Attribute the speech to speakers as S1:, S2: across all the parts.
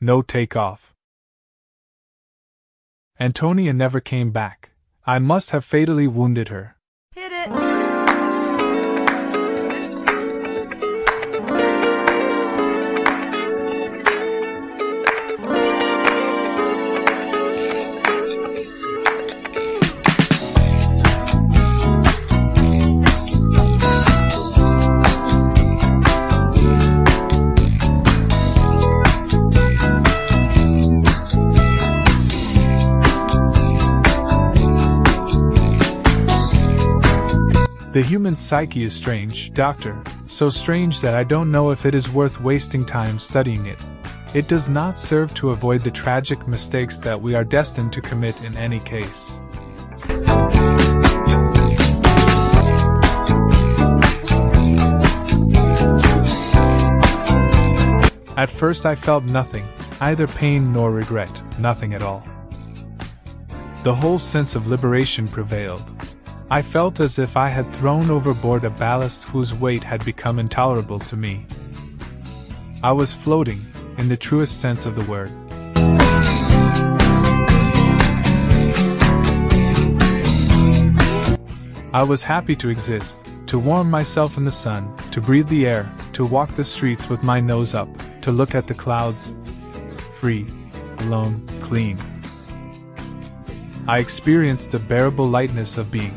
S1: No takeoff. Antonia never came back. I must have fatally wounded her.
S2: Hit it!
S1: The human psyche is strange, Doctor, so strange that I don't know if it is worth wasting time studying it. It does not serve to avoid the tragic mistakes that we are destined to commit in any case. At first I felt nothing, either pain nor regret, nothing at all. The whole sense of liberation prevailed. I felt as if I had thrown overboard a ballast whose weight had become intolerable to me. I was floating, in the truest sense of the word. I was happy to exist, to warm myself in the sun, to breathe the air, to walk the streets with my nose up, to look at the clouds. Free, alone, clean. I experienced the bearable lightness of being.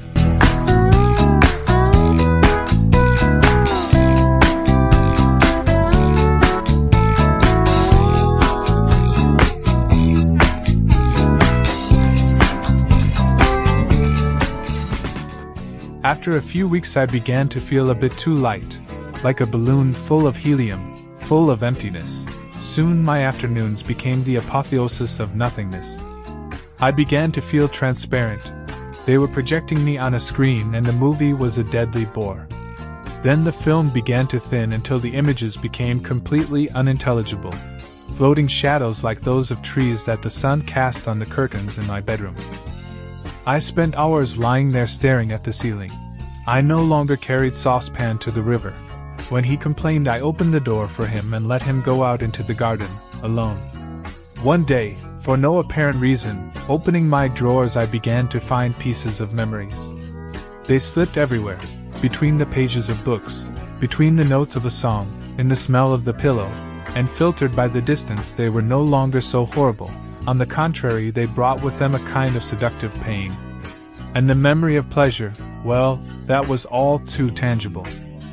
S1: After a few weeks I began to feel a bit too light, like a balloon full of helium, full of emptiness. Soon my afternoons became the apotheosis of nothingness. I began to feel transparent. They were projecting me on a screen and the movie was a deadly bore. Then the film began to thin until the images became completely unintelligible, floating shadows like those of trees that the sun cast on the curtains in my bedroom. I spent hours lying there staring at the ceiling. I no longer carried saucepan to the river. When he complained, I opened the door for him and let him go out into the garden, alone. One day, for no apparent reason, opening my drawers I began to find pieces of memories. They slipped everywhere, between the pages of books, between the notes of a song, in the smell of the pillow, and filtered by the distance they were no longer so horrible. On the contrary, they brought with them a kind of seductive pain. And the memory of pleasure, well, that was all too tangible.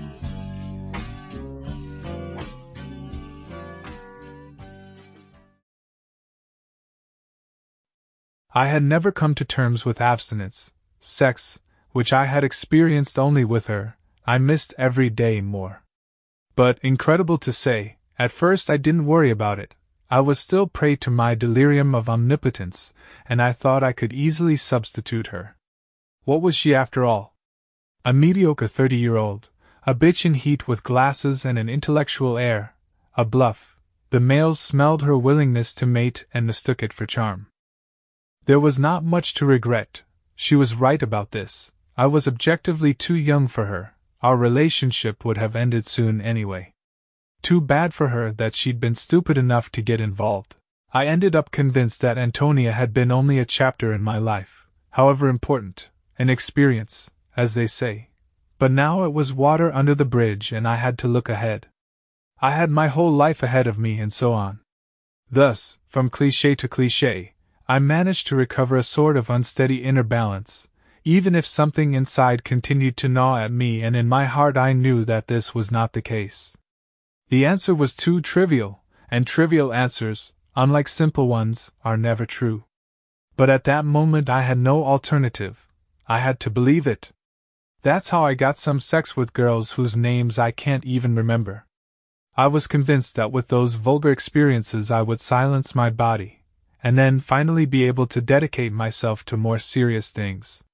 S1: I had never come to terms with abstinence. Sex, which I had experienced only with her, I missed every day more. But, incredible to say, at first I didn't worry about it. I was still prey to my delirium of omnipotence, and I thought I could easily substitute her. What was she after all? A mediocre 30-year-old, a bitch in heat with glasses and an intellectual air, a bluff. The males smelled her willingness to mate and mistook it for charm. There was not much to regret. She was right about this. I was objectively too young for her. Our relationship would have ended soon anyway. Too bad for her that she'd been stupid enough to get involved. I ended up convinced that Antonia had been only a chapter in my life, however important, an experience, as they say. But now it was water under the bridge and I had to look ahead. I had my whole life ahead of me and so on. Thus, from cliché to cliché, I managed to recover a sort of unsteady inner balance, even if something inside continued to gnaw at me, and in my heart I knew that this was not the case. The answer was too trivial, and trivial answers, unlike simple ones, are never true. But at that moment I had no alternative. I had to believe it. That's how I got some sex with girls whose names I can't even remember. I was convinced that with those vulgar experiences I would silence my body, and then finally be able to dedicate myself to more serious things.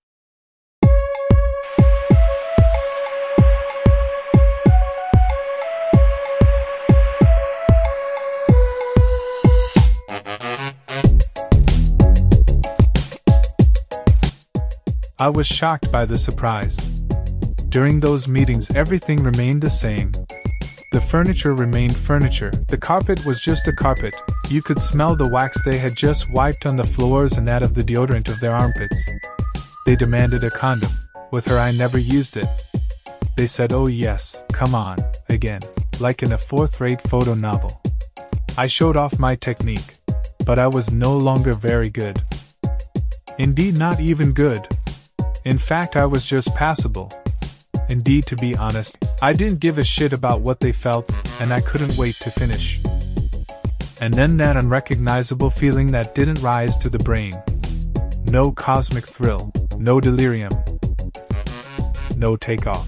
S1: I was shocked by the surprise. During those meetings everything remained the same. The furniture remained furniture, the carpet was just a carpet, you could smell the wax they had just wiped on the floors and that of the deodorant of their armpits. They demanded a condom. With her I never used it. They said, "Oh yes, come on," again, like in a fourth-rate photo novel. I showed off my technique, but I was no longer very good. Indeed, not even good. In fact, I was just passable. Indeed, to be honest, I didn't give a shit about what they felt, and I couldn't wait to finish. And then that unrecognizable feeling that didn't rise to the brain. No cosmic thrill, no delirium, no takeoff.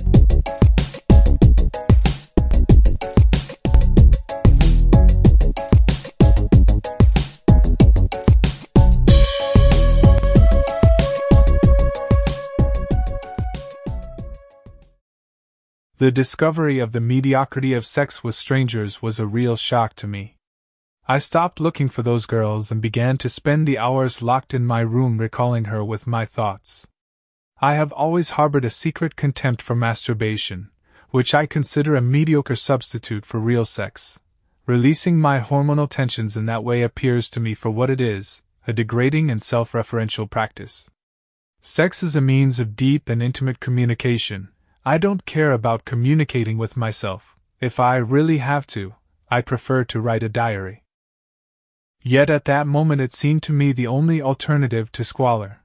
S1: The discovery of the mediocrity of sex with strangers was a real shock to me. I stopped looking for those girls and began to spend the hours locked in my room recalling her with my thoughts. I have always harbored a secret contempt for masturbation, which I consider a mediocre substitute for real sex. Releasing my hormonal tensions in that way appears to me for what it is, a degrading and self-referential practice. Sex is a means of deep and intimate communication. I don't care about communicating with myself. If I really have to, I prefer to write a diary. Yet at that moment it seemed to me the only alternative to squalor.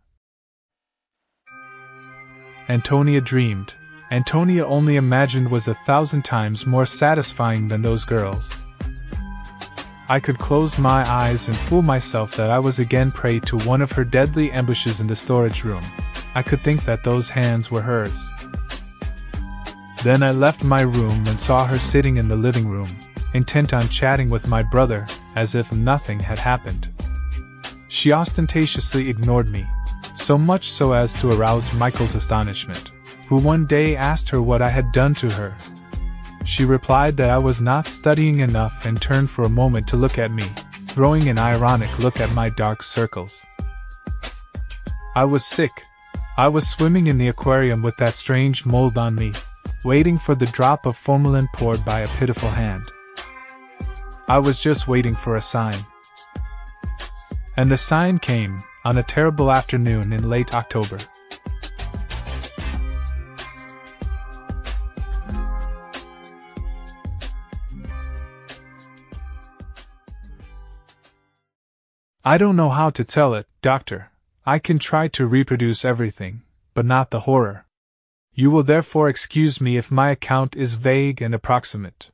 S1: Antonia dreamed. Antonia only imagined was 1,000 times more satisfying than those girls. I could close my eyes and fool myself that I was again prey to one of her deadly ambushes in the storage room. I could think that those hands were hers. Then I left my room and saw her sitting in the living room, intent on chatting with my brother, as if nothing had happened. She ostentatiously ignored me, so much so as to arouse Michael's astonishment, who one day asked her what I had done to her. She replied that I was not studying enough and turned for a moment to look at me, throwing an ironic look at my dark circles. I was sick. I was swimming in the aquarium with that strange mold on me, waiting for the drop of formalin poured by a pitiful hand. I was just waiting for a sign. And the sign came, on a terrible afternoon in late October. I don't know how to tell it, Doctor. I can try to reproduce everything, but not the horror. You will therefore excuse me if my account is vague and approximate.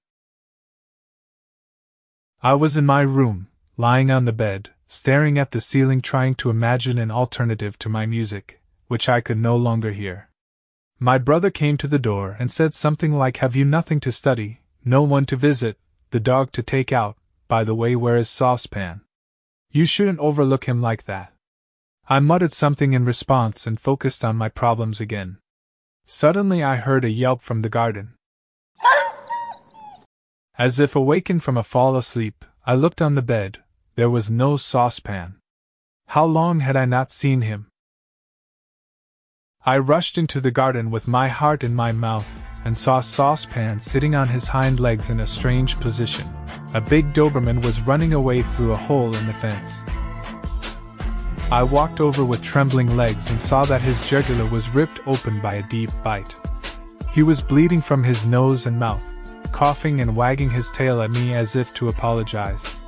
S1: I was in my room, lying on the bed, staring at the ceiling trying to imagine an alternative to my music, which I could no longer hear. My brother came to the door and said something like, "Have you nothing to study, no one to visit, the dog to take out, by the way where is Saucepan? You shouldn't overlook him like that." I muttered something in response and focused on my problems again. Suddenly I heard a yelp from the garden. As if awakened from a fall asleep, I looked on the bed. There was no Saucepan. How long had I not seen him? I rushed into the garden with my heart in my mouth, and saw Saucepan sitting on his hind legs in a strange position. A big Doberman was running away through a hole in the fence. I walked over with trembling legs and saw that his jugular was ripped open by a deep bite. He was bleeding from his nose and mouth, coughing and wagging his tail at me as if to apologize.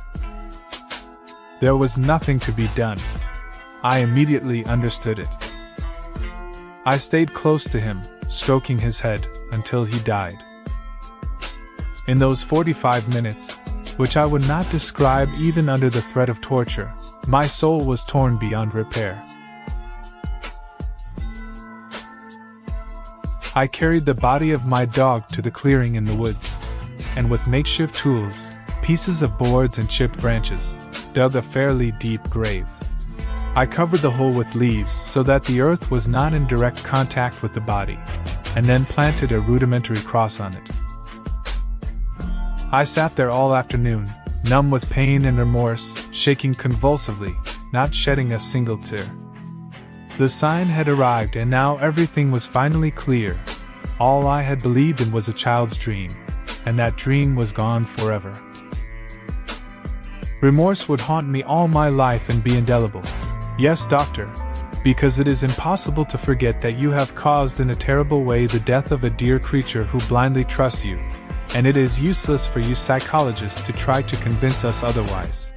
S1: There was nothing to be done. I immediately understood it. I stayed close to him, stroking his head, until he died. In those 45 minutes, which I would not describe even under the threat of torture, my soul was torn beyond repair. I carried the body of my dog to the clearing in the woods, and with makeshift tools, pieces of boards and chipped branches, dug a fairly deep grave. I covered the hole with leaves so that the earth was not in direct contact with the body, and then planted a rudimentary cross on it. I sat there all afternoon, numb with pain and remorse, shaking convulsively, not shedding a single tear. The sign had arrived and now everything was finally clear. All I had believed in was a child's dream. and that dream was gone forever. Remorse would haunt me all my life and be indelible. Yes, doctor, because it is impossible to forget that you have caused in a terrible way the death of a dear creature who blindly trusts you, and it is useless for you psychologists to try to convince us otherwise.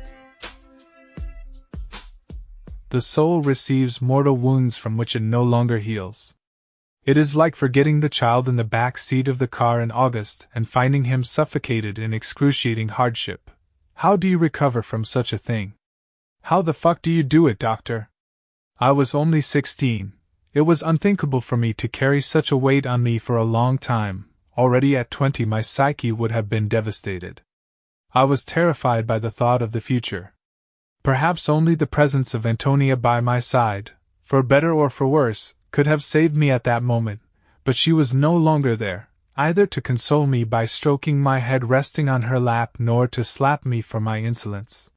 S1: The soul receives mortal wounds from which it no longer heals. It is like forgetting the child in the back seat of the car in August and finding him suffocated in excruciating hardship. How do you recover from such a thing? How the fuck do you do it, doctor? I was only 16. It was unthinkable for me to carry such a weight on me for a long time. Already at 20 my psyche would have been devastated. I was terrified by the thought of the future. Perhaps only the presence of Antonia by my side, for better or for worse, could have saved me at that moment, but she was no longer there, either to console me by stroking my head resting on her lap nor to slap me for my insolence.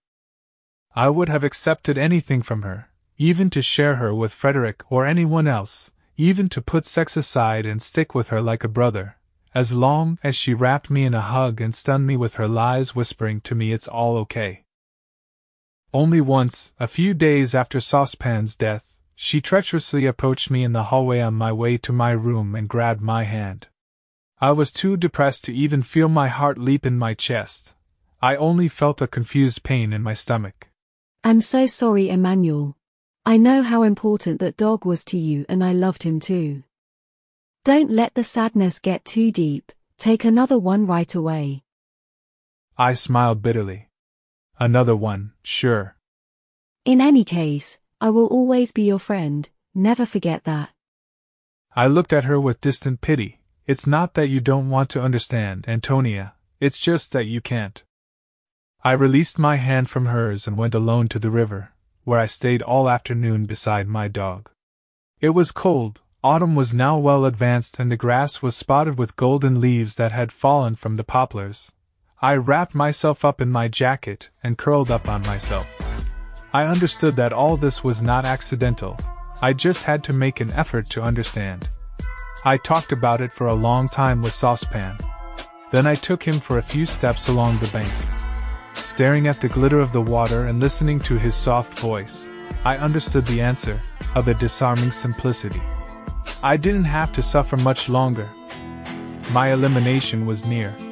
S1: I would have accepted anything from her, even to share her with Frederick or anyone else, even to put sex aside and stick with her like a brother, as long as she wrapped me in a hug and stunned me with her lies, whispering to me it's all okay. Only once, a few days after Saucepan's death, she treacherously approached me in the hallway on my way to my room and grabbed my hand. I was too depressed to even feel my heart leap in my chest. I only felt a confused pain in my stomach.
S2: I'm so sorry, Emmanuel. I know how important that dog was to you and I loved him too. Don't let the sadness get too deep, take another one right away.
S1: I smiled bitterly. Another one, sure.
S2: In any case, I will always be your friend, never forget that.
S1: I looked at her with distant pity. It's not that you don't want to understand, Antonia, it's just that you can't. I released my hand from hers and went alone to the river, where I stayed all afternoon beside my dog. It was cold, autumn was now well advanced and the grass was spotted with golden leaves that had fallen from the poplars. I wrapped myself up in my jacket and curled up on myself. I understood that all this was not accidental, I just had to make an effort to understand. I talked about it for a long time with Saucepan. Then I took him for a few steps along the bank. Staring at the glitter of the water and listening to his soft voice, I understood the answer, of a disarming simplicity. I didn't have to suffer much longer. My elimination was near.